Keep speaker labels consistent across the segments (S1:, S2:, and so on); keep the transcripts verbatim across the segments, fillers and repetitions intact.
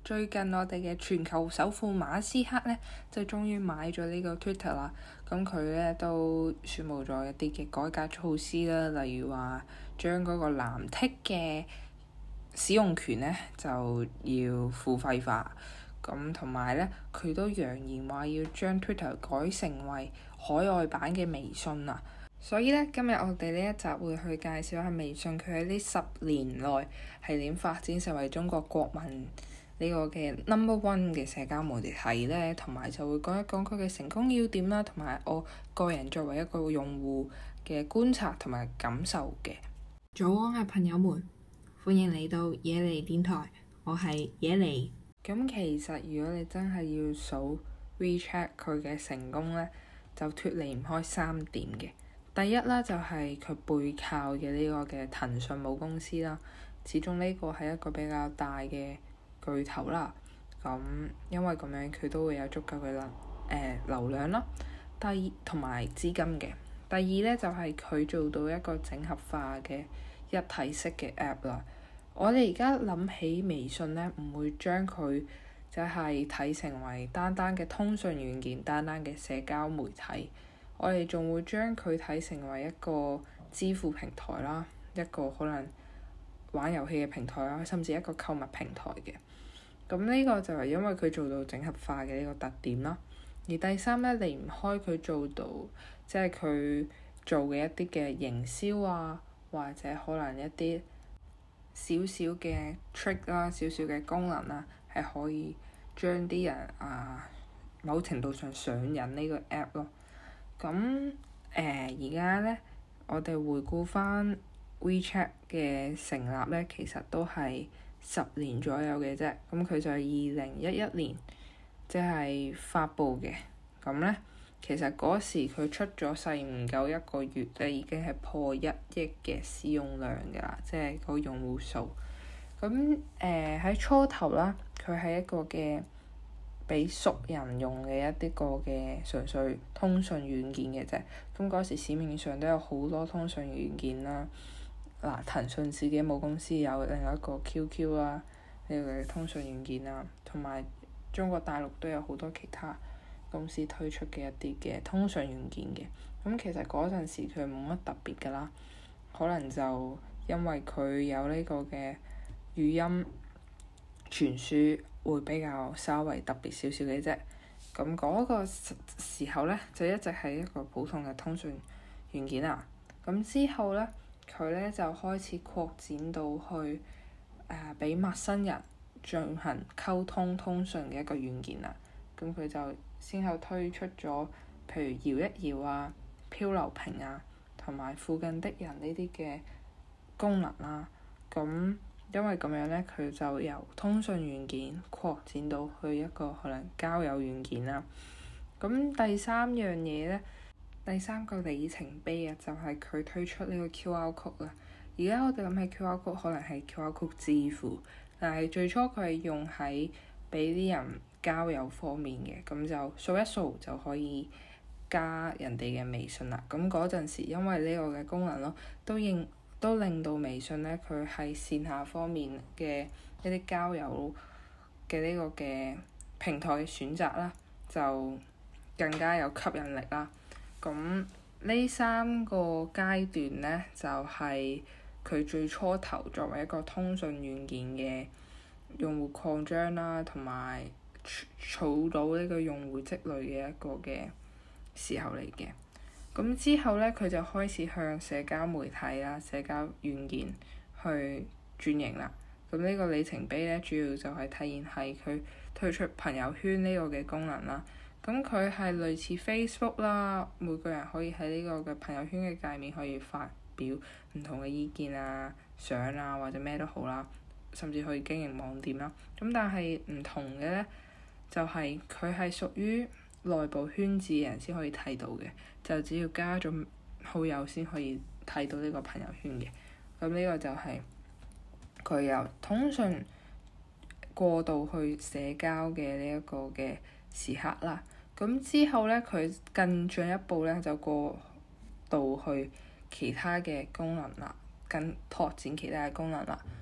S1: 最近我哋嘅全球首富馬斯克咧，就終於買咗呢個 Twitter 啦。咁佢咧都宣佈咗一啲嘅改革措施啦，例如話將嗰個藍剔嘅使用權咧就要付費化。咁同埋咧，佢都揚言話要將 Twitter 改成為海外版嘅微信啊。所以咧，今日我哋呢一集會去介紹下微信，佢喺呢十年內係點發展成為中國國民呢個嘅 number one 嘅社交媒體咧，同埋就會講一講佢嘅成功要點啦，同埋我個人作為一個用戶嘅觀察同埋感受嘅。早安啊，朋友們，歡迎嚟到野尼電台，我係野尼。咁其實如果你真係要數 WeChat 佢嘅成功咧，就脫離唔開三點嘅。第一啦，就係佢背靠嘅呢個嘅騰訊母公司啦，始終呢個係一個比較大嘅巨頭啦。咁因為咁樣佢都會有足夠嘅能誒流量啦。第二同埋資金嘅。第二咧就係佢做到一個整合化嘅一體式嘅 app 啦。我哋而家諗起微信咧，唔會將佢就係睇成為單單嘅通訊軟件、單單嘅社交媒體。我哋仲會將佢睇成為一個支付平台啦，一個可能玩遊戲嘅平台啦，甚至一個購物平台嘅。咁呢個就係因為佢做到整合化嘅呢個特點啦。而第三咧，離唔開佢做到即係佢做嘅一啲嘅營銷啊，或者可能一啲少少嘅 trick 啦、少少嘅功能啦，係可以將啲人啊某程度上上癮呢個 app 咯。咁誒而家咧，我哋回顧翻 WeChat 嘅成立咧，其實都係十年左右嘅啫。咁佢就係二零一一年即係發布嘅。咁咧，其實嗰時佢出咗世唔夠一個月咧，已經係破一億嘅使用量㗎啦，即係個用戶數。咁誒喺初頭啦，佢係一個嘅俾熟人用嘅一啲個嘅純粹通訊軟件嘅啫。咁嗰時市面上都有好多通訊軟件啦。嗱，騰訊自己母公司有另一個 Q Q 啦，呢個嘅通訊軟件啦，同埋中國大陸都有好多其他公司推出嘅一啲嘅通訊軟件嘅。咁其實嗰陣時佢冇乜特別㗎啦，可能就因為佢有呢個嘅語音傳輸會比較稍微特別少少嘅啫。咁嗰個時候咧，就一直係一個普通嘅通訊軟件啦。咁之後咧，佢咧就開始擴展到去誒俾陌生人進行溝通通訊嘅一個軟件啦。咁佢就先後推出咗譬如搖一搖啊、漂流瓶啊，同埋附近的人呢啲嘅功能啦。咁因為咁樣咧，佢就由通訊軟件擴展到去一個可能交友軟件啦。咁第三樣嘢咧，第三個里程碑啊，就係佢推出呢個 Q R code 啦。而家我哋諗起 Q R code 可能係 Q R code 支付，但係最初佢係用喺俾啲人交友方面嘅，咁就掃一掃就可以加人哋嘅微信啦。咁嗰陣時因為呢個嘅功能咯，都應都令到微信咧，佢喺線下方面嘅一啲交友嘅呢個嘅平台嘅選擇啦，就更加有吸引力啦。咁呢三個階段咧，就係、是、佢最初頭作為一個通訊軟件嘅用戶擴張啦，同埋儲到呢個用戶積累嘅一個嘅時候嚟嘅。咁之後咧，佢就開始向社交媒體啦、社交軟件去轉型啦。咁呢個里程碑咧，主要就係體現係佢推出朋友圈呢個嘅功能啦。咁佢係類似 Facebook 啦，每個人可以喺呢個嘅朋友圈嘅界面可以發表唔同嘅意見啊、相啊或者咩都好啦，甚至可以經營網店啦。咁但係唔同嘅咧，就係佢係屬於內部圈子嘅人先可以睇到嘅，就只要加咗好友先可以睇到呢個朋友圈嘅。咁呢個就係佢由通訊過渡去社交嘅呢一個嘅時刻啦。咁之後咧，佢更進一步咧就過渡去其他嘅功能啦，更拓展其他嘅功能啦。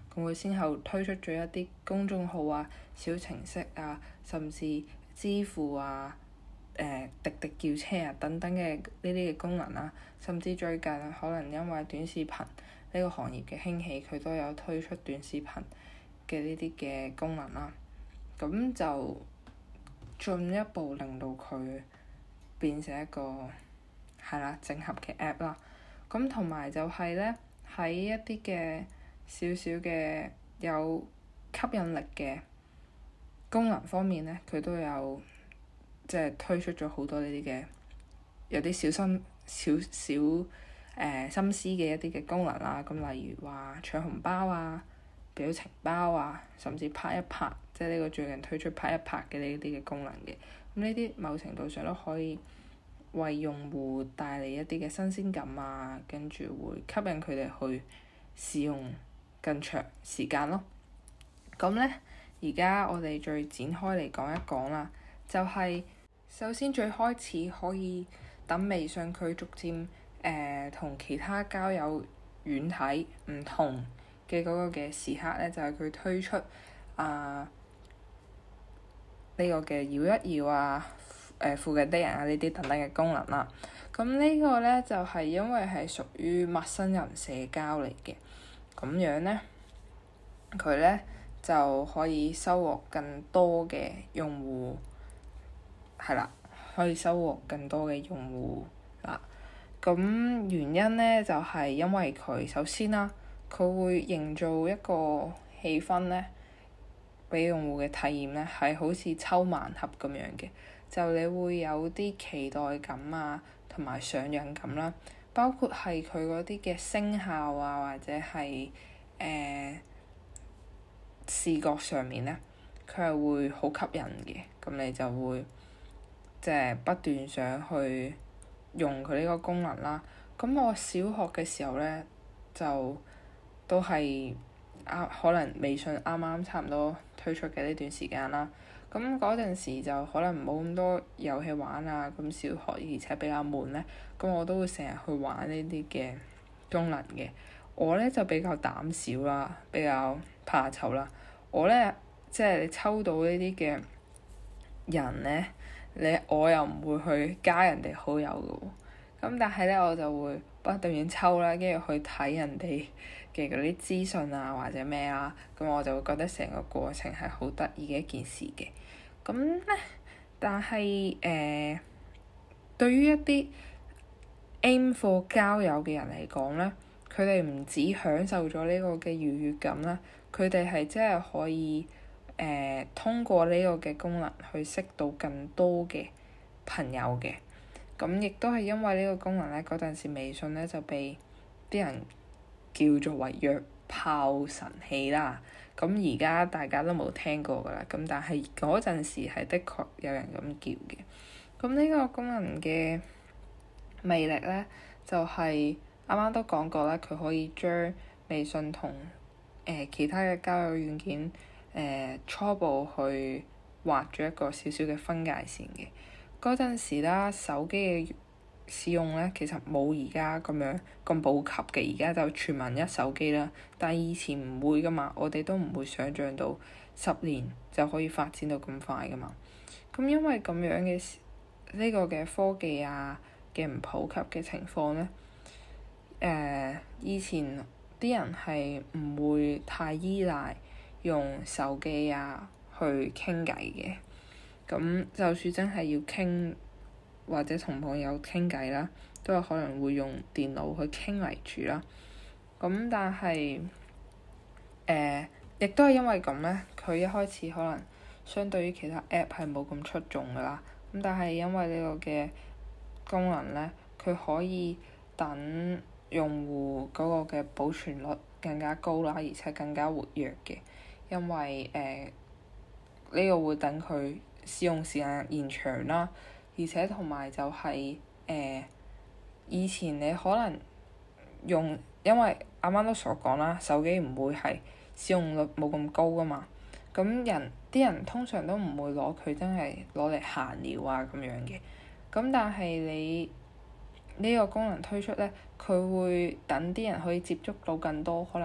S1: 咁佢先後推出咗一啲公眾號啊、小程式啊，甚至支付啊、誒、呃、滴滴叫車啊等等嘅呢啲嘅功能啦、啊。甚至最近可能因為短視頻呢個行業嘅興起，佢都有推出短視頻嘅呢啲嘅功能啦、啊。咁就進一步令到佢變成一個係啦整合嘅 app 啦。咁同埋就係咧喺一啲嘅少少嘅有吸引力嘅功能方面咧，佢都有即係推出咗好多呢啲嘅有啲小心少少誒、呃、心思嘅一啲嘅功能啦。咁例如話搶紅包啊、表情包啊，甚至拍一拍，即係呢個最近推出拍一拍嘅呢啲嘅功能嘅。咁呢啲某程度上都可以為用戶帶嚟一啲嘅新鮮感啊，跟住會吸引佢哋去使用更長時間咯。咁咧，而家我哋再展開嚟講一講啦，就係、是、首先最開始可以等微信佢逐漸誒同、呃、其他交友軟體唔同嘅嗰個嘅時刻咧，就係、是、佢推出啊呢、這個嘅搖一搖啊，誒、呃、附近的人啊呢啲等等嘅功能啦。咁呢個咧就係、是、因為係屬於陌生人社交嚟嘅，咁樣咧佢咧就可以收穫更多嘅用戶，係啦，可以收穫更多嘅用戶啦。咁原因咧就係、是、因為佢首先啦，佢會營造一個氣氛咧，俾用戶嘅體驗咧係好似抽盲盒咁樣嘅，就你會有啲期待感啊，同埋上癮感啦，包括係佢嗰啲嘅聲效啊，或者係誒、呃、視覺上面咧，佢係會好吸引嘅，咁你就會即係、就是、不斷想去用佢呢個功能啦。咁我小學嘅時候咧，就都係啱可能微信啱啱差唔多推出嘅呢段時間啦。咁嗰陣時就可能冇咁多遊戲玩啊，咁小學而且比較悶咧，咁我都會成日去玩呢啲嘅功能嘅。我咧就比較膽小啦，比較怕醜啦。我咧即係你抽到呢啲嘅人咧，你我又唔會去加人哋好友嘅喎。咁但係咧我就會不斷咁抽啦，跟住去睇人哋嘅嗰啲資訊啊或者咩啦，咁我就會覺得成個過程係好得意嘅一件事嘅。咁咧，但係誒、呃，對於一啲 aim for 交友嘅人嚟講咧，佢哋唔止享受咗呢個嘅愉悅感啦，佢哋係真係可以誒、呃、通過呢個嘅功能去識到更多嘅朋友嘅。咁亦都係因為呢個功能咧，嗰陣時微信咧就被啲人叫做為約炮神器啦。咁而家大家都冇聽過㗎啦，咁但係嗰陣時係的確有人咁叫嘅。咁呢個功能嘅魅力咧，就係啱啱都講過啦，佢可以將微信同誒、呃、其他嘅交友軟件誒、呃、初步去畫咗一個少少嘅分界線嘅。嗰陣時啦，手機嘅使用咧，其實冇而家咁樣咁普及嘅，而家就全民一手機啦。但係以前唔會噶嘛，我哋都唔會想像到十年就可以發展到咁快噶嘛。咁因為咁樣嘅呢、這個嘅科技啊嘅唔普及嘅情況咧，誒、呃、以前啲人係唔會太依賴用手機啊去傾偈嘅。咁就算真係要傾或者同朋友傾偈啦，都有可能會用電腦去傾為主啦。咁但係誒，亦都係因為咁咧，佢一開始可能相對於其他 app 係冇咁出眾噶啦。咁但係因為呢個嘅功能咧，佢可以等用戶嗰個嘅保存率更加高啦，而且更加活躍嘅，因為誒呢、呃呢個會等佢使用時間延長啦，而且同埋就係、是、誒、呃、以前你可能用，因為啱啱都所講啦，手機唔會係使用率冇咁高噶嘛，咁人啲人通常都唔會攞佢真係攞嚟閒聊啊咁樣嘅，咁但係你呢個功能推出咧，佢會等啲人可以接觸到更多可能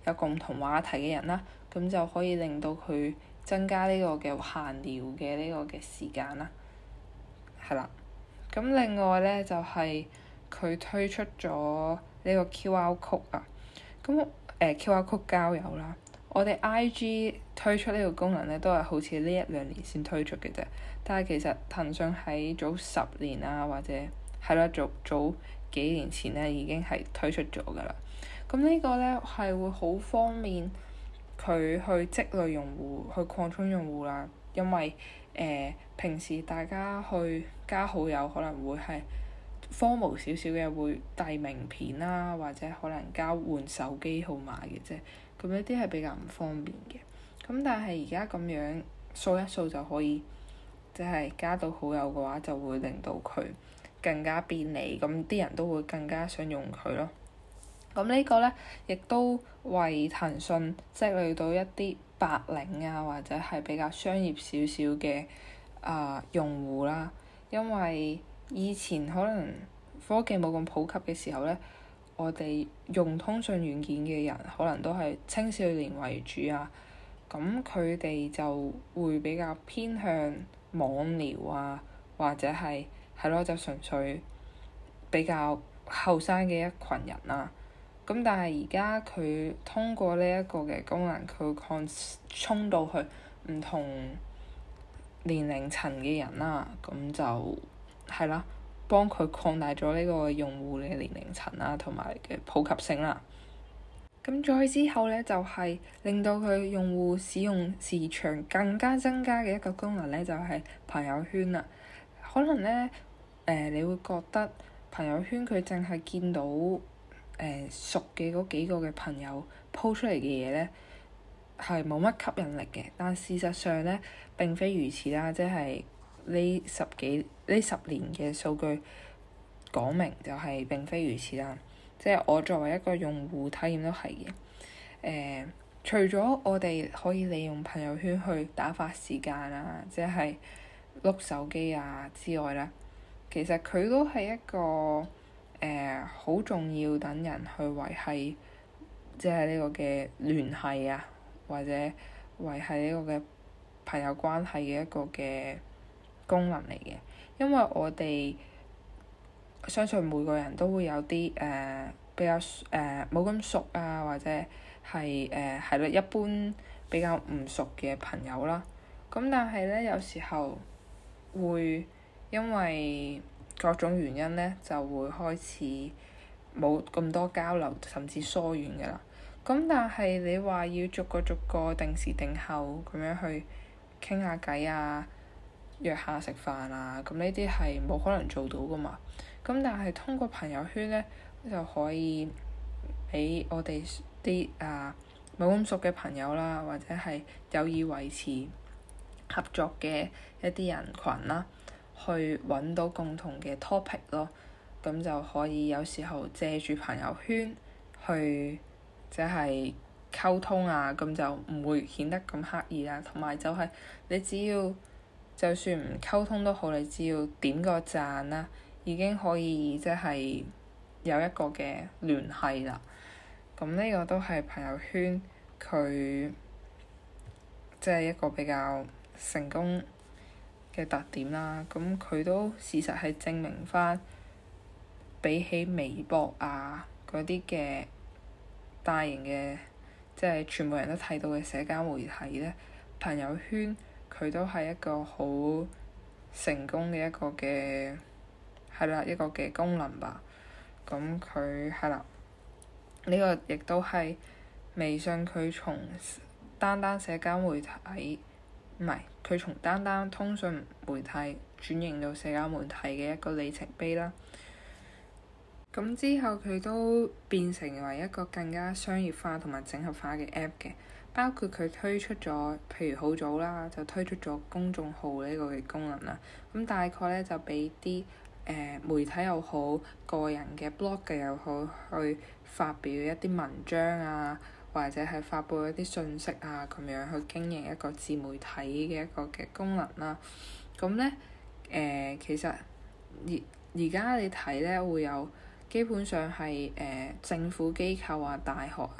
S1: 有共同話題嘅人啦，咁就可以令到佢增加呢個嘅閒聊嘅呢個嘅時間啦。係啦，咁另外咧就係、是、佢推出咗呢個 Q R code 啊，咁誒、呃、Q R code 交友啦。我哋 I G 推出呢個功能咧，都係好似呢一兩年先推出嘅啫。但係其實騰訊喺早十年啊，或者係咯早早幾年前咧，已經係推出咗噶啦。咁呢個咧係會好方便佢去積累用戶，去擴充用戶啦。因為誒、呃、平時大家去加好友可能會係formal少少嘅，會遞名片啦，或者可能交換手機號碼嘅啫。咁呢啲係比較唔方便嘅。咁但係而家咁樣掃一掃就可以，即係加到好友嘅話，就會令到佢更加便利，咁啲人都會更加想用佢咯。咁呢個咧，亦都為騰訊積累到一啲白領啊，或者係比較商業少少嘅啊用戶啦。因為以前可能科技冇咁普及嘅時候咧，我哋用通訊軟件嘅人可能都係青少年為主啊，咁佢哋就會比較偏向網聊啊，或者係係咯，就純粹比較後生嘅一群人啦。咁但係而家佢通過呢一個嘅功能，佢擴充到去唔同年齡層嘅人啦，咁就係啦。幫佢擴大咗呢個用戶嘅年齡層啦，同埋嘅普及性啦。咁再之後咧，就係、是、令到佢用戶使用時長更加增加嘅一個功能咧，就係、是、朋友圈啦。可能咧，誒、呃，你會覺得朋友圈佢淨係見到誒、呃、熟嘅嗰幾個嘅朋友 po 出嚟嘅嘢咧，係冇乜吸引力嘅。但事實上咧，並非如此啦，即係。呢十幾呢十年嘅數據講明就係並非如此啦，即係我作為一個用戶體驗都係嘅。誒、呃，除咗我哋可以利用朋友圈去打發時間啊，即係碌手機啊之外啦，其實佢都係一個誒好、呃、重要等人去維繫，即係呢個嘅聯繫啊，或者維繫呢個嘅朋友關係嘅一個嘅功能嚟嘅。因為我哋相信每個人都會有啲誒、呃、比較誒冇咁熟啊，或者係誒係咯一般比較唔熟嘅朋友啦。咁但係咧，有時候會因為各種原因咧，就會開始冇咁多交流，甚至疏遠㗎啦。咁但係你話要逐個逐個定時定候咁樣去傾下偈啊，約下食飯啊，咁呢啲係冇可能做到㗎嘛。咁但係通過朋友圈咧，就可以俾我哋啲啊冇咁熟嘅朋友啦，或者係有意維持合作嘅一啲人群啦，去揾到共同嘅 topic 咯。咁就可以有時候借住朋友圈去即係溝通啊，咁就唔會顯得咁刻意啦。同埋就係你只要就算唔溝通都好，你只要點個讚啦，已經可以即係有一個嘅聯繫啦。咁呢個都係朋友圈佢即係一個比較成功嘅特點啦。咁佢都事實係證明返，比起微博啊嗰啲嘅大型嘅即係全部人都睇到嘅社交媒體咧，朋友圈佢都係一個好成功嘅一個嘅係啦一個嘅功能吧。咁佢係啦，呢個亦都係微信佢從單單社交媒體唔係佢從單單通訊媒體轉型到社交媒體嘅一個里程碑啦。咁之後佢都變成為一個更加商業化同埋整合化嘅 app 嘅，包括佢推出咗，譬如好早啦，就推出咗公眾號呢個嘅功能啦。咁大概咧就俾啲誒媒體又好，個人嘅 blog 嘅又好，去發表一啲文章啊，或者係發佈一啲信息啊，咁樣去經營一個自媒體嘅一個嘅功能啦。咁咧誒，其實而而家你睇咧會有。基本上係誒、呃、政府機構啊、大學啊，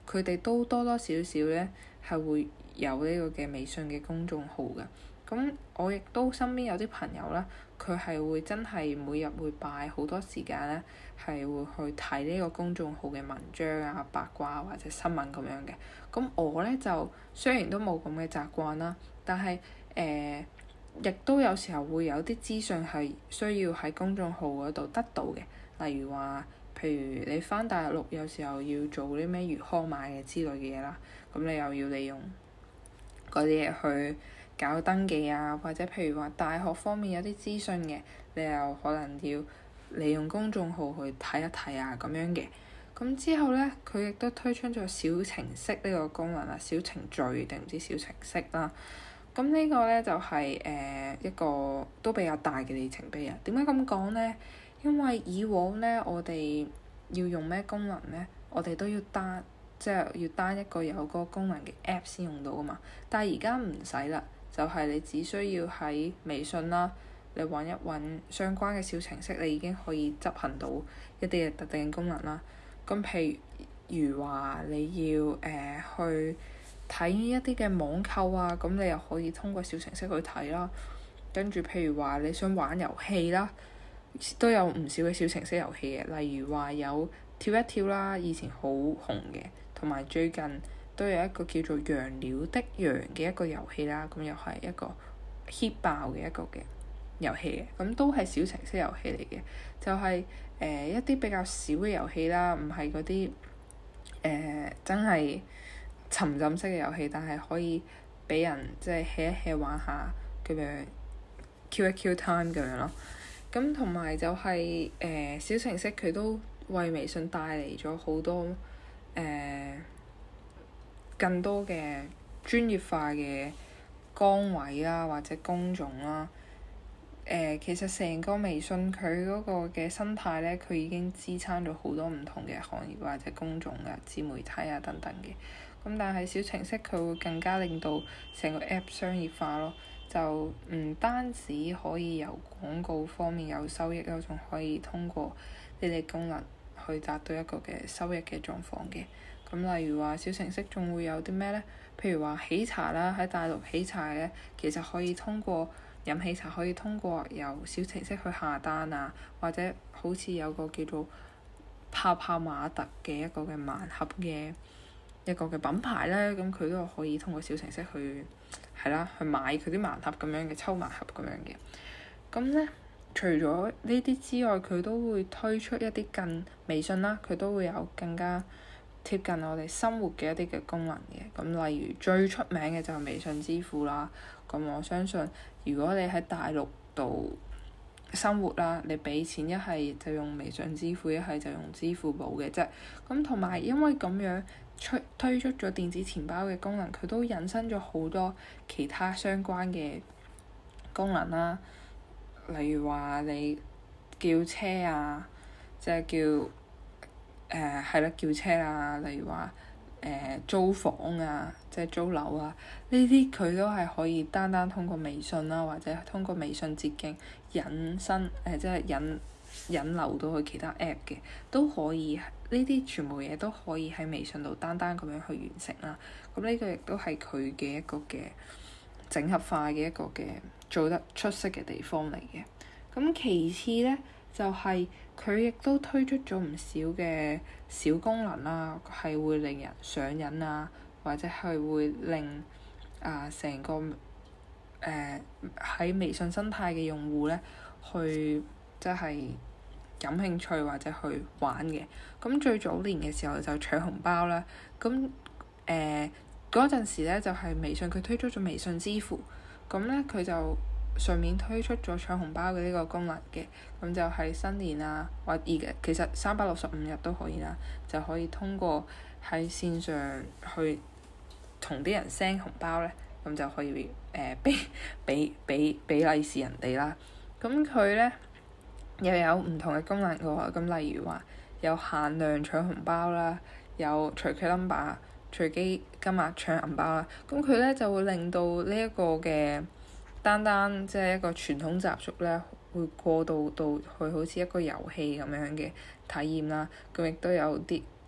S1: 佢哋都多多少少咧係會有呢個嘅微信嘅公眾號㗎。咁我亦都身邊有啲朋友咧，佢係會真係每日會擺好多時間咧，係會去睇呢個公眾號嘅文章啊、八卦或者新聞咁樣嘅。咁我咧就雖然都冇咁嘅習慣啦，但係誒亦都有時候會有啲資訊係需要喺公眾號嗰度得到嘅，例如話，譬如你返大陸有時候要做啲咩魚康碼嘅之類嘅嘢啦，咁你又要利用嗰啲嘢去搞登記啊，或者譬如話大學方面有啲資訊嘅，你又可能要利用公眾號去睇一睇啊咁樣嘅。咁之後咧，佢亦都推出咗小程式呢個功能啦，小程序定唔知小程式啦。咁呢個咧就係、是、誒、呃、一個都比較大嘅里程碑啊。點解咁講咧？因為以往咧，我哋要用咩功能咧，我哋都要單即係要單一個有嗰個功能嘅 app 先用到噶嘛。但係而家唔使啦，就係、是、你只需要喺微信啦，你揾一揾相關嘅小程式，你已經可以執行到一啲嘅特定功能啦。咁譬如話你要誒、呃、去睇一啲嘅網購啊，咁你又可以通過小程式去睇啦。跟住譬如話你想玩遊戲啦，都有唔少嘅小程式遊戲嘅，例如話有跳一跳啦，以前好紅嘅，同埋最近都有一個叫做羊鳥的羊嘅一個遊戲啦，咁又係一個 hit 爆嘅一個嘅遊戲嘅，咁都係小程式遊戲嚟嘅，就係、是、誒、呃、一啲比較少嘅遊戲啦，唔係嗰啲誒真係沉浸式嘅遊戲，但係可以俾人即係 hea 一 hea 玩下咁樣 kill 一 kill time 咁樣咯。咁同埋就係、是、誒、呃、小程式佢都為微信帶嚟咗好多誒、呃、更多嘅專業化嘅崗位啦，或者工種啦。誒、呃，其實成個微信佢嗰個嘅生態咧，佢已經支撐咗好多唔同嘅行業或者工種嘅自媒體啊等等嘅。咁但係小程式佢會更加令到成個 app 商業化咯，就唔單止可以由廣告方面有收益咯，仲可以通過呢啲功能去達到一個嘅收益嘅狀況嘅。咁例如話小程式仲會有啲咩咧？譬如話喜茶啦，喺大陸喜茶咧，其實可以通過飲喜茶可以通過由小程式去下單啊，或者好似有個叫做泡泡瑪特嘅一個嘅盲盒嘅一個嘅品牌咧，咁佢都可以通過小程式去係啦，去買佢啲盲盒咁樣嘅抽盲盒咁樣嘅。咁咧，除咗呢啲之外，佢都會推出一啲更微信啦，佢都會有更加貼近我哋生活嘅一啲嘅功能嘅。咁例如最出名嘅就係微信支付啦。咁我相信，如果你喺大陸度生活啦，你俾錢一係就用微信支付，一係就用支付寶嘅啫。咁同埋因為咁樣推推出咗電子錢包嘅功能，佢都引申咗好多其他相關嘅功能啦。例如話你叫車啊，即係叫誒係啦，叫車啊。例如話誒、呃、租房啊，即係租樓啊，呢啲佢都係可以單單通過微信啦，或者通過微信捷徑引申誒、呃，即係引引流到去其他 app 嘅，都可以。呢啲全部嘢都可以喺微信度單單咁樣去完成啦。咁呢個亦都係佢嘅一個嘅整合化嘅一個嘅做得出色嘅地方嚟嘅。咁其次咧，就係佢亦都推出咗唔少嘅小功能啦，係會令人上癮啊，或者係會令啊成、呃、個誒喺、呃、微信生態嘅用戶咧，去即係感興趣或者去玩嘅。咁最早年嘅時候就搶紅包啦，咁誒嗰陣時咧就係、是、微信佢推出咗微信支付，咁咧佢就順便推出咗搶紅包嘅呢個功能嘅，咁就係新年啊，或而家其實三百六十五日都可以啦，就可以通過喺線上去同啲人 send 紅包咧，咁就可以誒俾俾俾俾利是人哋啦。咁佢咧又有唔同嘅功能嘅喎，咁例如話有限量搶紅包啦，有隨機 number 隨機金額搶銀包啦，咁佢咧就會令到呢一個嘅單單即係一個傳統習俗咧，會過渡到去好似一個遊戲咁樣嘅體驗啦。咁亦都有啲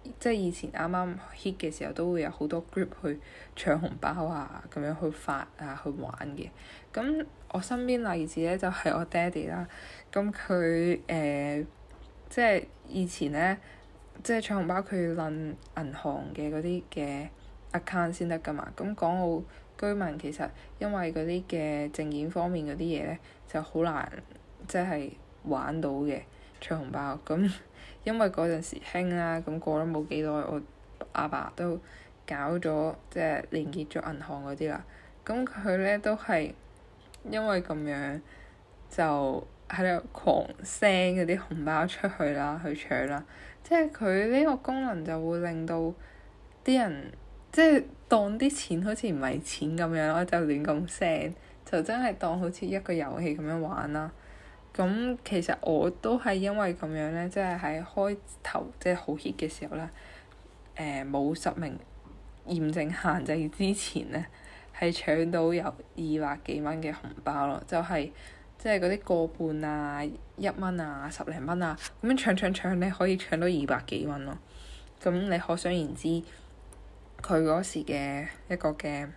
S1: 即係以前啱啱 hit 嘅時候，都會有好多 group 去搶紅包啊，咁樣去發啊，去玩嘅。咁我身邊例子咧就係、是、我爹哋啦。咁佢誒即係以前咧，即係搶紅包佢要撚銀行嘅嗰啲嘅 account 先得㗎嘛。咁港澳居民其實因為嗰啲嘅證件方面嗰啲嘢咧，就好難即係玩到嘅搶紅包。咁因為嗰陣時興啦，咁過咗冇幾耐，我阿爸都搞咗即係連結咗銀行嗰啲啦。咁佢咧都係因為咁樣就喺度狂 send 嗰啲紅包出去啦，去搶啦。即係佢呢個功能就會令到啲人即係當啲錢好似唔係錢咁樣咯，就亂咁 send，就真係當好似一個遊戲咁樣玩啦。咁其實我都係因為咁樣咧，即係喺開頭即係好 hit 嘅時候咧，誒冇實名驗證限制之前咧，係搶到有二百幾蚊嘅紅包咯，就係即係嗰啲個半啊、一蚊啊、十零蚊啊，咁樣搶搶搶咧，可以搶到二百幾蚊咯。咁你可想而知，佢嗰時嘅一個嘅呢、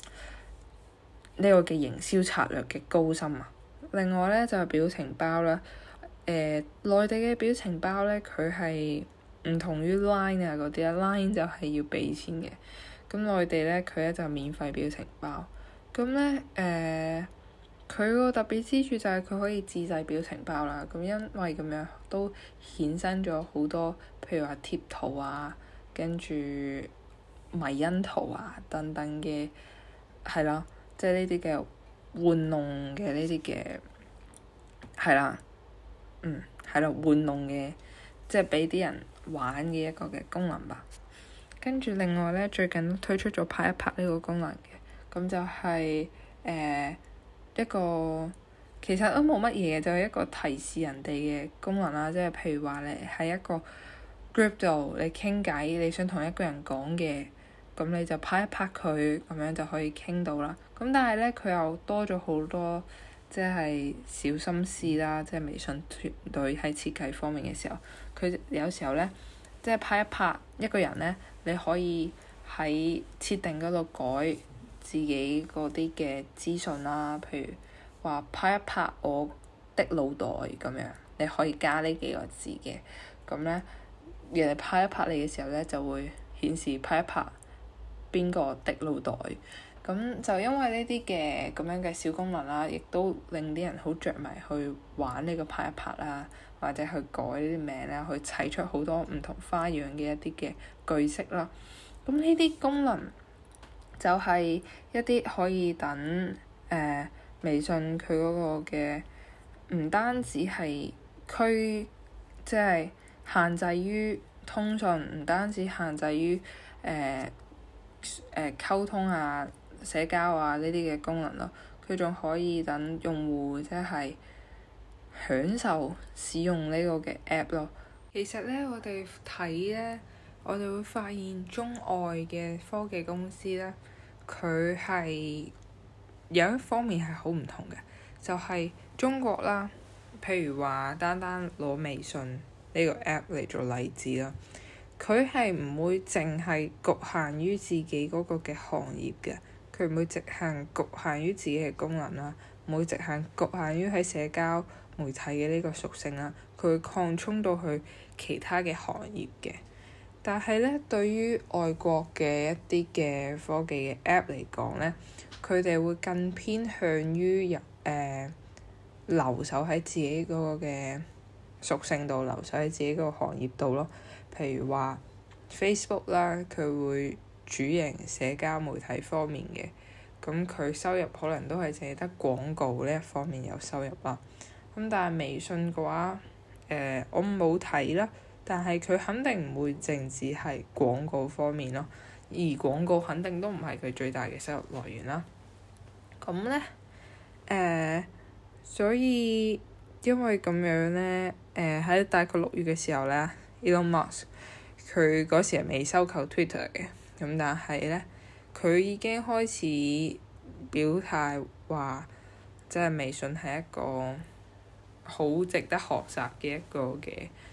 S1: 這個嘅營銷策略嘅高深啊！另外咧就係、是、表情包啦，誒、呃、內地嘅表情包咧，佢係唔同於 Line 啊嗰啲啊 ，Line 就係要俾錢嘅。咁內地咧佢咧就免費表情包。咁咧誒，佢個特別之處就係佢可以自製表情包啦。咁因為咁樣都衍生咗好多，譬如話貼圖啊，跟住迷因圖啊等等嘅，係啦，即係呢啲嘅玩弄嘅呢啲嘅，係啦，嗯，係啦，玩弄嘅，即係俾啲人玩嘅一個嘅功能吧。跟住另外咧，最近推出咗拍一拍呢個功能嘅，咁就係、是、誒、呃、一個其實都冇乜嘢，就係、是、一個提示人哋嘅功能啦。即係譬如話你喺一個 group 度你傾偈，你想同一個人講嘅，咁你就拍一拍佢，咁樣就可以傾到啦。咁但係咧，佢又多咗好多即係小心思啦。即係微信團隊喺設計方面嘅時候，佢有時候咧，即係拍一拍一個人咧，你可以喺設定嗰度改自己嗰啲嘅資訊啦。譬如話拍一拍我的腦袋咁樣，你可以加呢幾個字嘅。咁咧，人哋拍一拍你嘅時候咧，就會顯示拍一拍邊個的腦袋。咁就因為呢啲嘅咁樣嘅小功能啦，亦都令啲人好着迷去玩呢個拍一拍啦，或者去改呢啲名啦，去砌出好多唔同花樣嘅一啲嘅句式啦。咁呢啲功能就係一啲可以等誒、呃、微信佢嗰個嘅唔單止係區，即係限制於通訊，唔單止限制於誒誒溝通啊、社交啊呢啲嘅功能咯，佢仲可以等用戶即係享受使用呢個嘅 app 咯。其實咧，我哋睇咧，我哋會發現中外嘅科技公司咧，佢係有一方面係好唔同嘅，就係、是、中國啦。譬如話，單單攞微信呢個 app 嚟做例子啦，佢係唔會淨係局限於自己嗰個嘅行業嘅，佢唔會直行局限於自己嘅功能啦，唔會直行局限於喺社交媒體嘅呢個屬性啦，佢會擴充到去其他嘅行業嘅。但係咧，對於外國嘅一啲嘅科技嘅 app 嚟講咧，佢哋會更偏向於入誒、呃、留守喺自己嗰個嘅屬性度，留守喺自己嗰個行業度咯。譬如話 Facebook 啦，佢會主營社交媒體方面嘅，咁佢收入可能都係淨係得廣告呢一方面有收入啦。咁但係微信嘅話，誒、呃、我冇睇啦，但係佢肯定唔會淨止係廣告方面咯，而廣告肯定都唔係佢最大嘅收入來源啦。咁咧，誒、呃，所以因為咁樣咧，誒、呃、喺大概六月嘅時候咧，Elon Musk 佢嗰時係未收購 Twitter 嘅，咁但係咧，佢已經開始表態話，即係微信係一個好值得學習嘅一個嘅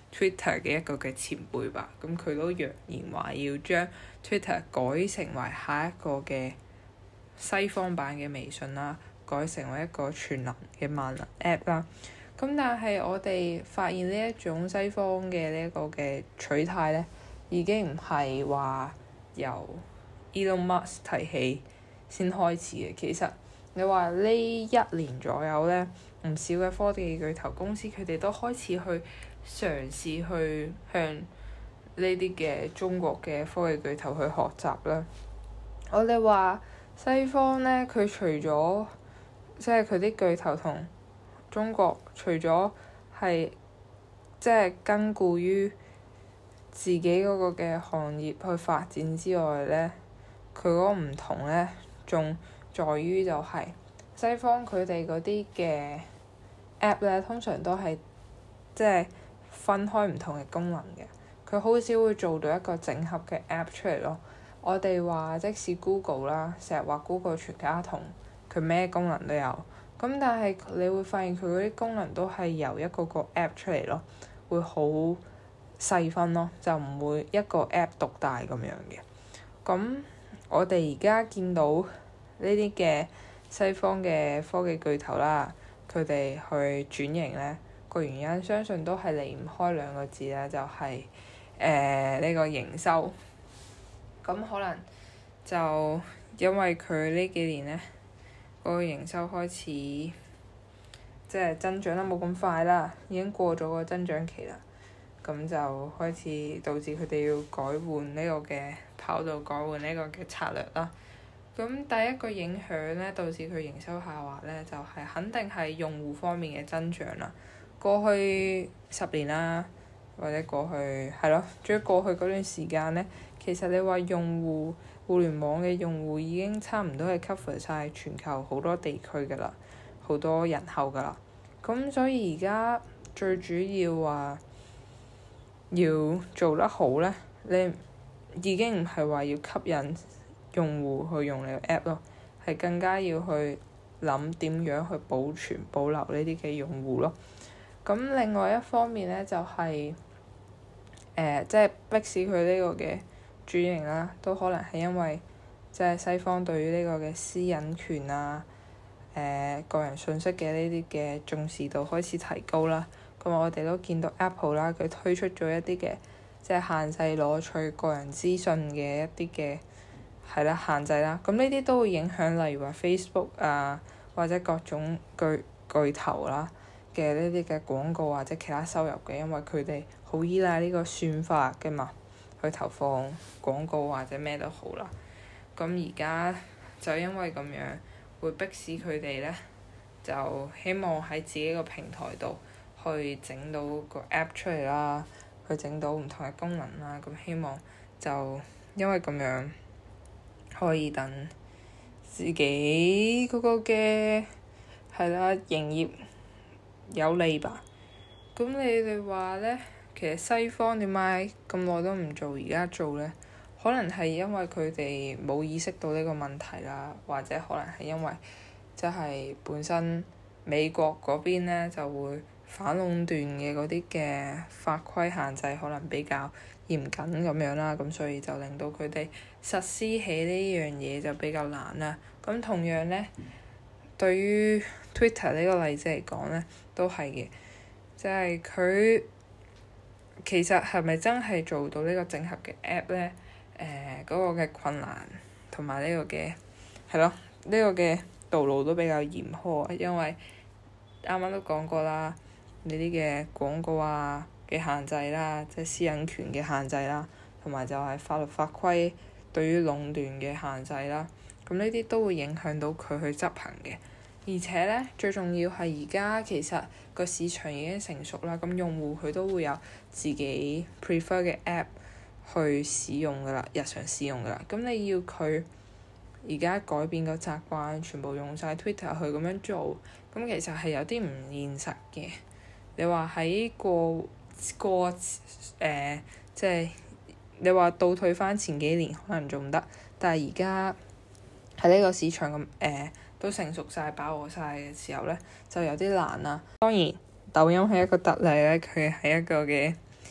S1: Twitter 嘅一個嘅前輩吧，咁佢都揚言話要將 Twitter 改成為下一個嘅西方版嘅微信啦，改成為一個全能嘅萬能 App 啦。咁但係我哋發現呢一種西方嘅呢一個嘅取態咧，已經唔係話由 Elon Musk 提起先開始嘅。其實你話呢一年左右咧，唔少嘅科技巨頭公司佢哋都開始去嘗試去向呢啲嘅中國嘅科技巨頭去學習啦。我哋話西方咧，佢除咗即係佢啲巨頭同中國除咗係即係根據於自己嗰個嘅行業去發展之外咧，佢嗰個唔同咧，仲在於就係西方佢哋嗰啲嘅 app 咧，通常都係即係分開唔同嘅功能嘅，佢好少會做到一個整合嘅 app 出嚟咯。我哋話即使 Google 啦，成日話 Google 全家桶，佢咩功能都有，咁但係你會發現佢嗰啲功能都係由一個個 app 出嚟咯，會好細分咯，就唔會一個 app 獨大咁樣嘅。咁我哋而家見到呢啲嘅西方嘅科技巨頭啦，佢哋去轉型咧，個原因相信都係離唔開兩個字啦，就係誒呢個營收。咁可能就因為佢呢幾年咧，嗰個營收開始即係增長得冇咁快啦，已經過咗個增長期啦。咁就開始導致佢哋要改換呢個嘅跑道，改換呢個嘅策略啦。咁第一個影響咧，導致佢營收下滑咧，就係肯定係用戶方面嘅增長啦。過去十年啦，或者過去係咯，仲要過去嗰段時間咧，其實你話用戶互聯網嘅用戶已經差唔多係 cover 晒全球好多地區㗎啦，好多人口㗎啦。咁所以而家最主要話要做得好咧，你已經唔係話要吸引用戶去用你個 app 咯，係更加要去諗點樣去保存保留呢啲嘅用戶咯。咁另外一方面咧，就係誒即係迫使佢呢個嘅轉型啦，都可能係因為即係西方對於呢個嘅私隱權啊、誒、呃、個人信息嘅呢啲嘅重視度開始提高啦。咁我哋都見到 Apple 啦，佢推出咗一啲嘅即係限制攞取個人資訊嘅一啲嘅係啦限制啦。咁呢啲都會影響，例如話 Facebook 啊，或者各種巨巨頭啦嘅呢啲嘅廣告或者其他收入嘅，因為佢哋好依賴呢個算法嘅嘛，去投放廣告或者咩都好啦。咁而家就因為咁樣，會迫使佢哋咧，就希望喺自己個平台度去整到個 app 出嚟啦，去整到唔同嘅功能啦。咁希望就因為咁樣可以等自己嗰個嘅係啦營業有利吧。咁你哋話咧，其實西方點解咁耐都唔做，而家做咧？可能係因為佢哋冇意識到呢個問題啦，或者可能係因為即係本身美國嗰邊咧就會反壟斷嘅嗰啲嘅法規限制可能比較嚴謹咁樣啦，咁所以就令到佢哋實施起呢樣嘢就比較難啦。咁同樣咧，對於 Twitter 呢個例子嚟講咧，都係嘅，即係佢其實係咪真係做到呢個整合嘅 app 咧？誒、呃、嗰、那個嘅困難同埋呢個嘅係咯，呢、這個嘅道路都比較嚴苛，因為啱啱都講過啦，呢啲嘅廣告啊嘅限制啦，即係私隱權嘅限制啦，同埋就係法律法規對於壟斷嘅限制啦，咁呢啲都會影響到佢去執行嘅。而且咧，最重要係而家其實個市場已經成熟啦，咁用戶佢都會有自己 prefer 嘅 app 去使用㗎啦，日常使用㗎啦。咁你要佢而家改變個習慣，全部用晒 Twitter 去咁樣做，咁其實係有啲唔現實嘅。你話喺過過誒、呃，即係你話倒退翻前幾年可能仲得，但係而家喺呢個市場咁誒、呃、都成熟晒、飽和晒嘅時候咧，就有啲難啦。當然，抖音係一個特例咧，佢係一個嘅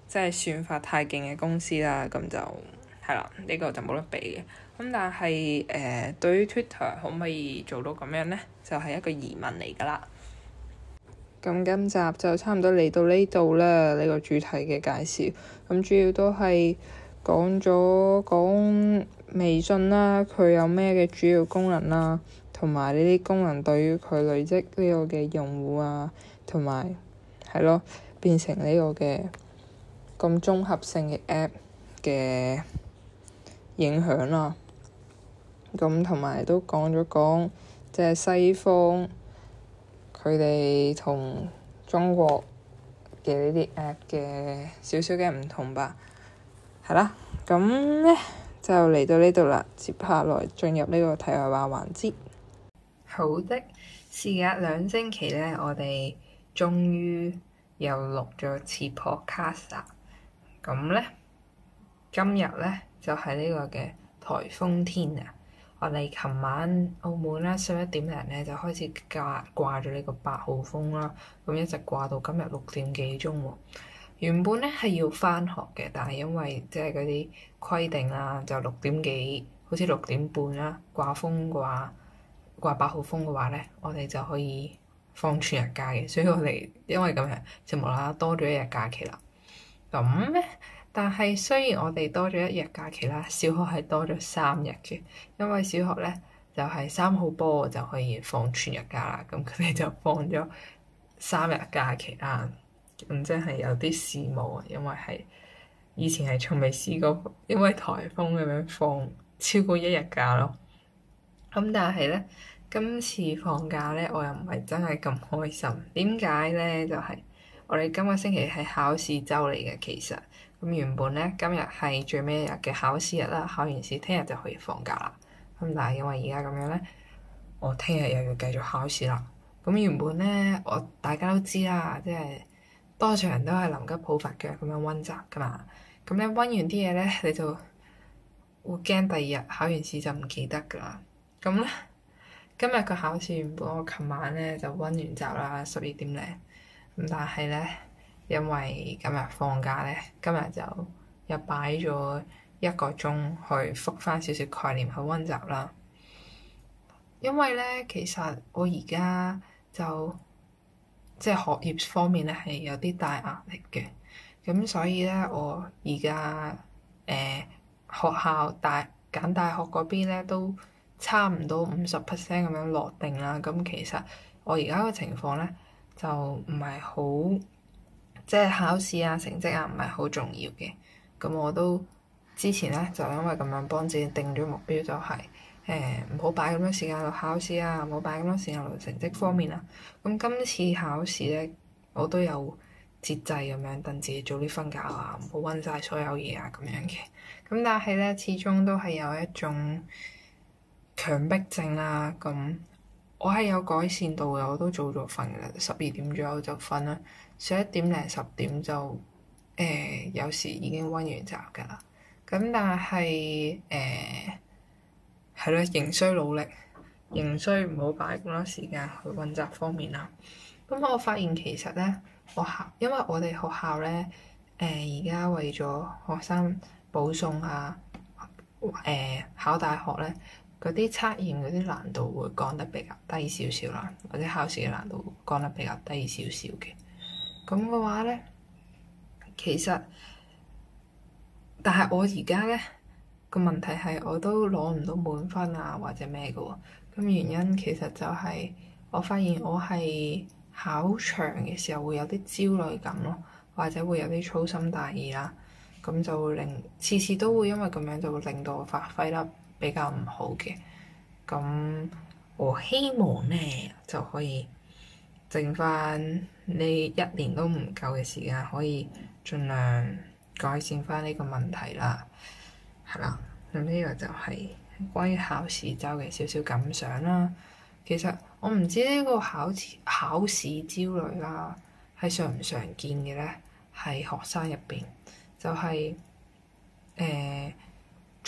S1: 即係算法太勁嘅公司啦，咁就係啦，呢、這個就冇得比嘅。咁但係誒、呃，對於 Twitter 可唔可以做到咁樣呢？就係、是、一個疑問嚟㗎啦。咁今集就差唔多嚟到呢度啦，呢、這個主題嘅介紹。咁主要都係講咗講微信啦，佢有咩嘅主要功能啦，同埋呢啲功能對於佢累積呢個嘅用戶啊，同埋係咯變成呢個嘅咁綜合性嘅 app 嘅影響啦。咁同埋都講咗講，即係西方佢哋同中國嘅呢啲 app 嘅少少嘅唔同吧。係啦，咁咧就嚟到呢度啦，接下來進入呢個題外話環節。好的，事隔兩星期咧，我哋終於又錄咗次 podcast 啦。咁咧，今日咧就係、是、呢個嘅颱風天啊！我哋琴晚澳門啦，十一點零咧就開始掛掛咗呢個八號風啦，咁一直掛到今日六點幾鐘喎。原本咧係要返學嘅，但係因為即係嗰啲規定啦，就六點幾，好似六點半啦，掛風嘅話，掛八號風嘅話咧，我哋就可以放全日假嘅，所以我哋因為咁樣就無啦啦多咗一日假期啦。咁咧，但係雖然我哋多咗一日假期啦，小學係多咗三日嘅，因為小學咧就係三號波就可以放全日假啦，咁佢哋就放咗三日假期啦。咁真係有啲羨慕啊，因為係以前係從未試過，因為颱風咁樣放超過一日假咯。咁但係咧，今次放假咧，我又唔係真係咁開心。點解咧？就係、是、我哋今個星期係考試週嚟嘅，其實咁原本咧今日係最尾一日嘅考試日啦，考完試聽日就可以放假啦。咁但係因為而家咁樣咧，我聽日又要繼續考試啦。咁原本咧，我大家都知啦，即係多數人都係臨急抱佛腳咁樣溫習噶嘛。咁咧溫完啲嘢咧，你就會驚第二日考完試就唔記得噶啦。咁咧今日個考試原本我琴晚咧就溫完習啦，十二點零。咁但係咧，因為今日放假咧，今日就又擺咗一個鐘去復翻少少概念去溫習啦。因為咧，其實我而家就即係學業方面咧係有啲大壓力嘅，咁所以咧我而家誒學校大揀大學嗰邊咧都差唔多五十 percent 咁樣落定啦。咁其實我而家個情況咧就唔係好，即係考試啊成績啊唔係好重要嘅。咁我都之前咧就因為咁樣幫自己定咗目標，就係誒唔好擺咁多時間落考試啊，唔好擺咁多時間落成績方面啊。咁今次考試咧，我都有節制咁樣，等自己早啲瞓覺啊，唔好溫晒所有嘢啊咁樣嘅。咁但係咧，始終都係有一種強迫症啦。咁我係有改善到嘅，我都早咗瞓嘅啦，十二點左右就瞓啦，十一點零十點就誒、呃、有時已經溫完習㗎啦。咁但係誒係咯，仍需努力，仍需唔好擺咁多時間去溫習方面啦。咁我發現其實咧，學校因為我哋學校咧誒而家為咗學生保送啊，誒、呃、考大學咧，嗰啲測驗嗰啲難度會降得比較低少少啦，或者考試嘅難度降得比較低少少嘅。咁嘅話咧，其實但係我而家咧個問題係我都攞唔到滿分啊，或者咩嘅喎。咁原因其實就係我發現我係考場嘅時候會有啲焦慮感咯，或者會有啲粗心大意啦。咁就會令次次都會因為咁樣就會令到我發揮得比較唔好嘅。咁我希望咧就可以剩翻呢一年都唔夠嘅時間，可以盡量改善翻呢個問題啦。係啦，咁呢個就係關於考試週嘅少少感想啦。其實我唔知呢個考試考試焦慮啦係常唔常見嘅咧，喺學生入邊就係誒做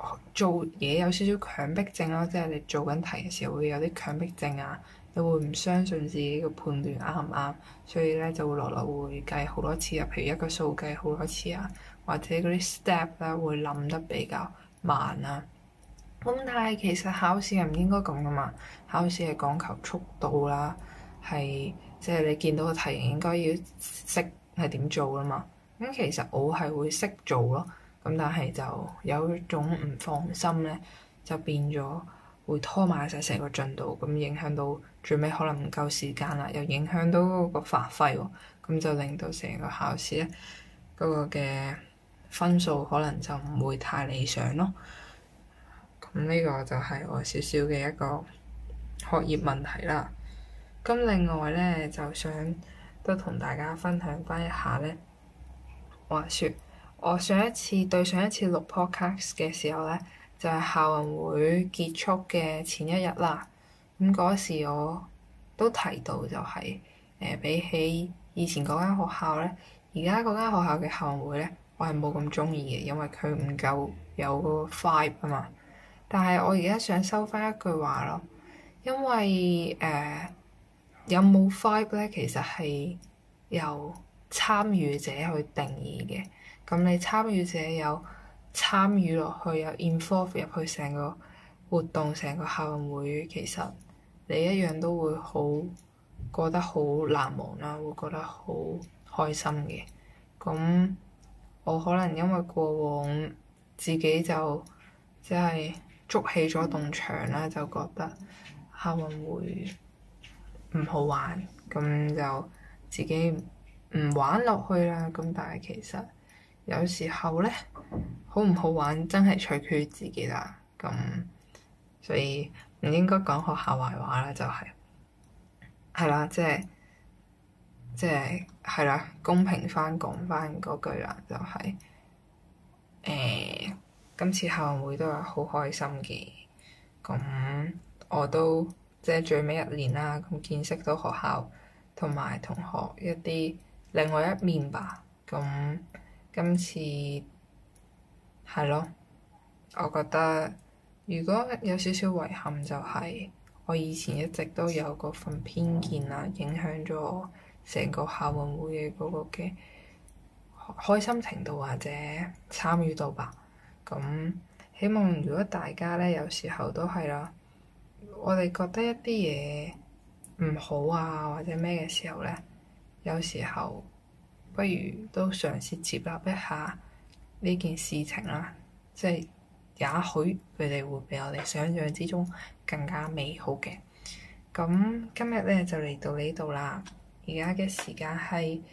S1: 做嘢有少少強迫症咯，即係你做緊題嘅時候會有啲強迫症啊，你會唔相信自己嘅判斷啱唔啱，所以咧就會落落會計好多次啊，譬如一個數計好多次啊，或者嗰啲 step 咧會諗得比較慢啊。咁但係其實考試係唔應該咁噶嘛，考試係講求速度啦，係即係你見到個題型應該要識係點做噶嘛。咁其實我係會識做咯，咁但係就有一種唔放心咧，就變咗會拖埋晒成個進度，咁影響到最尾可能唔夠時間啦，又影響到嗰個發揮喎，咁就令到成個考試咧嗰個嘅分數可能就唔會太理想咯。咁呢個就係我少少嘅一個學業問題啦。咁另外咧，就想都同大家分享翻一下咧。話説我上一次對上一次錄 podcast 嘅時候咧，就係、是、校運會結束嘅前一日啦。咁嗰時我都提到就係、是、誒、呃、比起以前嗰間學校咧，而家嗰間學校嘅校運會咧，我係冇咁中意嘅，因為佢唔夠有嗰個 vibe 啊嘛。但係我而家想收翻一句話咯，因為誒、呃、有冇 vibe 咧，其實係由參與者去定義嘅。咁你參與者有參與落去，有 involve 入去成個活動、成個校運會，其實你一樣都會好覺得好難忘啦，會覺得好開心嘅。咁我可能因為過往自己就即係捉起咗棟牆啦，就覺得校運會唔好玩，咁就自己唔玩落去啦。咁但係其實有時候咧，好唔好玩真係取決於自己啦。咁所以唔應該講學校壞話啦，就係係啦，即係即係係啦，公平翻講翻嗰句啦，就係誒今次校運會都係好開心嘅。咁我都即係最尾一年啦，咁見識到學校同埋同學一啲另外一面吧。咁今次係咯，我覺得如果有少少遺憾就係我以前一直都有嗰份偏見啊，影響咗我成個校運會嘅嗰個嘅開心程度或者參與度吧。咁希望如果大家咧有時候都係啦，我哋覺得一啲嘢唔好啊或者咩嘅時候咧，有時候不如都嘗試接納一下呢件事情啦，即係也許佢哋會比我哋想象之中更加美好嘅。咁今日咧就嚟到呢度啦，而家嘅時間係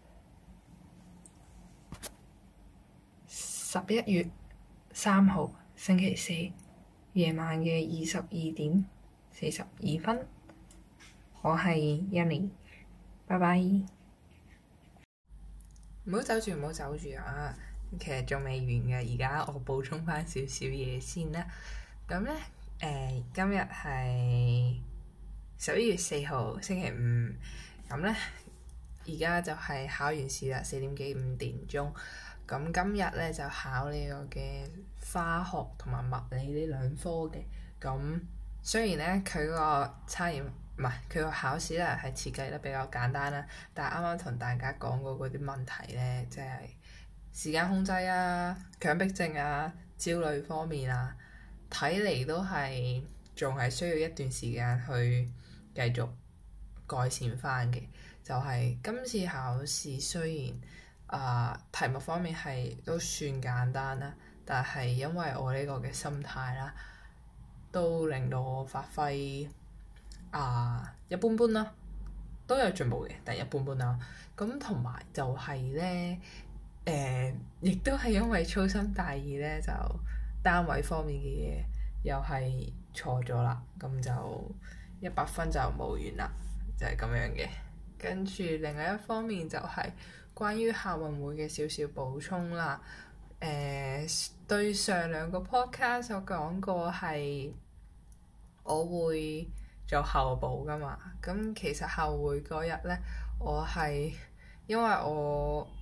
S1: 十一月三號星期四夜晚嘅二十二點四十二分，我係印尼，拜拜。唔好走住，唔好走住啊！其實仲未完嘅，而家我補充翻少少嘢先啦。咁咧，誒、呃，今日係十一月四號星期五，咁咧而家就係考完試啦，四點幾五點鐘。咁今日咧就考呢個嘅化學同埋物理呢兩科嘅。咁雖然咧佢個測驗唔係佢個考試咧係設計得比較簡單啦，但係啱啱同大家講過嗰啲問題咧，即係時間控制啊、強迫症啊、焦慮方面啊，睇嚟都係仲係需要一段時間去繼續改善翻嘅。就係今次考試雖然啊、呃、題目方面係都算簡單啦，但係因為我呢個嘅心態啦，都令到我發揮啊、呃、一般般啦，都有進步嘅，但係一般般啦。咁同埋就係咧，誒、呃，亦都係因為粗心大意咧，就單位方面嘅嘢又係錯咗啦，咁就一百分就冇完啦，就係、是、咁樣嘅。跟住另外一方面就係關於校運會嘅少少補充啦。誒、呃，對上兩個 podcast 我講過係我會做後補㗎嘛。咁其實後會嗰日咧，我係因為我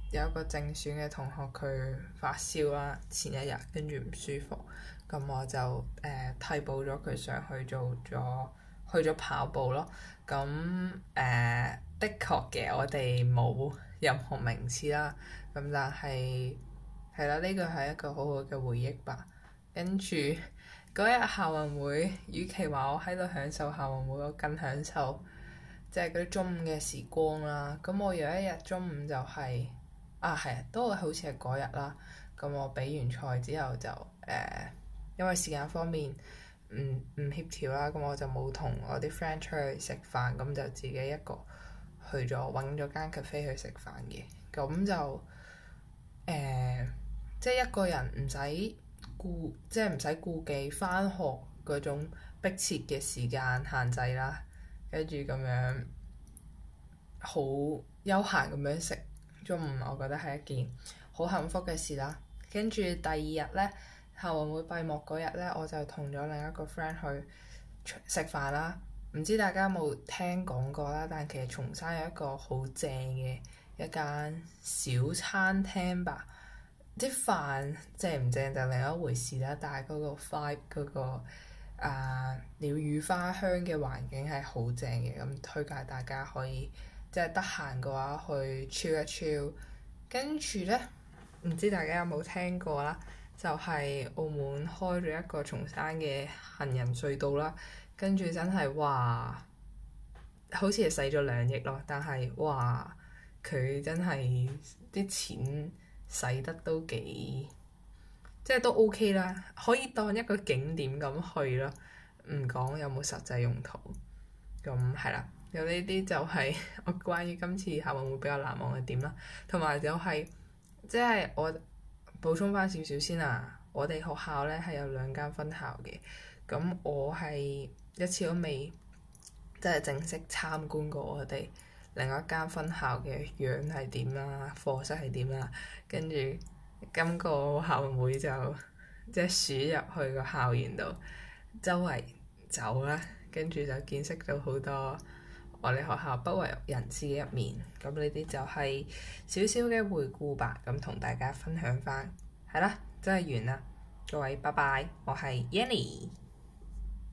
S1: 有一個正選嘅同學佢發燒啦，前一日跟住唔舒服，咁我就誒、呃、替補咗佢上去做咗去咗跑步咯。咁誒、呃、的確嘅，我哋冇任何名次啦，咁但係係啦，呢個係一個好好嘅回憶吧。跟住嗰日校運會，與其話我喺度享受校運會，我更享受即係嗰啲中午嘅時光啦。咁我有一日中午就係、是、啊係啊，都好似係嗰日啦。咁我比完賽之後就誒、呃，因為時間方面唔唔協調啦，咁我就冇同我啲 friend 出去食飯，咁就自己一個去咗揾咗間 cafe 去食飯嘅。咁就誒、呃，即係一個人唔使顧，即係唔使顧忌返學嗰種迫切嘅時間限制啦，跟住咁樣好悠閒咁樣食中午，我覺得係一件好幸福嘅事啦。跟住第二日呢，校運會閉幕嗰日呢，我就同咗另一個 friend 去食飯啦。唔知大家有冇聽講過啦？但其實松山有一個好正嘅一間小餐廳吧。啲飯正唔正就另一回事啦，但係嗰個 vibe 嗰個啊鳥語花香嘅環境係好正嘅，咁推介大家可以即係得閒嘅話去 chill 一 chill。跟住呢，唔知大家有冇聽過啦？就係、是、澳門開咗一個松山嘅行人隧道啦，跟住真係哇，好似係使咗兩億咯，但係哇，佢真係啲錢使得都幾，即係都 OK 啦，可以當一個景點咁去咯，唔講有冇實際用途。咁係啦，有呢啲就係我關於今次校運會比較難忘嘅點啦，同埋就係、是、即係我補充翻少少先啊，我哋學校咧係有兩間分校嘅，咁我係一次都未即係正式參觀過我哋另一間分校嘅樣係點啦，課室係點啦，跟住今個校運會就即係鼠入去個校園度周圍走啦，跟住就見識到好多我哋學校不為人知嘅一面。咁呢啲就係少少嘅回顧吧，咁同大家分享翻。係啦，真係完啦，各位拜拜，我係 Yanny。